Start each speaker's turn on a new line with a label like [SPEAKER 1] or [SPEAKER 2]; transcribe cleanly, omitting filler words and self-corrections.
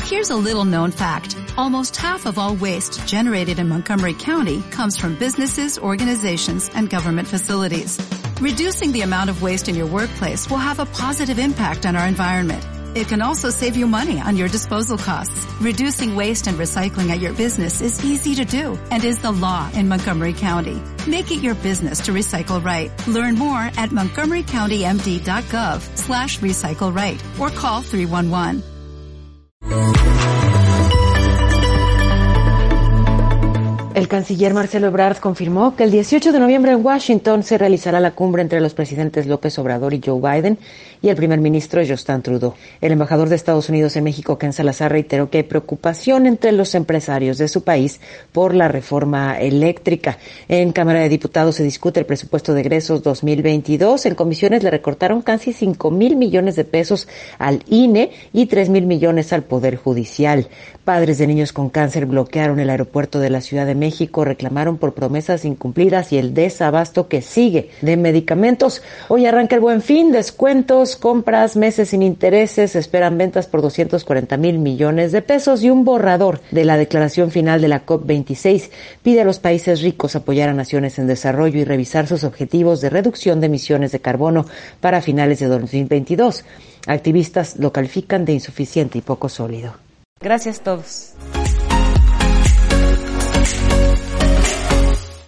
[SPEAKER 1] Here's a little known fact. Almost half of all waste generated in Montgomery County comes from businesses, organizations, and government facilities. Reducing the amount of waste in your workplace will have a positive impact on our environment. It can also save you money on your disposal costs. Reducing waste and recycling at your business is easy to do and is the law in Montgomery County. Make it your business to recycle right. Learn more at montgomerycountymd.gov/recycle right or call 311.
[SPEAKER 2] El canciller Marcelo Ebrard confirmó que el 18 de noviembre en Washington se realizará la cumbre entre los presidentes López Obrador y Joe Biden y el primer ministro Justin Trudeau. El embajador de Estados Unidos en México, Ken Salazar, reiteró que hay preocupación entre los empresarios de su país por la reforma eléctrica. En Cámara de Diputados se discute el presupuesto de egresos 2022. En comisiones le recortaron casi 5,000 millones de pesos al INE y 3,000 millones al Poder Judicial. Padres de niños con cáncer bloquearon el aeropuerto de la Ciudad de México, reclamaron por promesas incumplidas y el desabasto que sigue de medicamentos. Hoy arranca el Buen Fin, descuentos, compras, meses sin intereses, esperan ventas por 240,000 millones de pesos y un borrador de la declaración final de la COP26 pide a los países ricos apoyar a naciones en desarrollo y revisar sus objetivos de reducción de emisiones de carbono para finales de 2022. Activistas lo califican de insuficiente y poco sólido. Gracias a todos.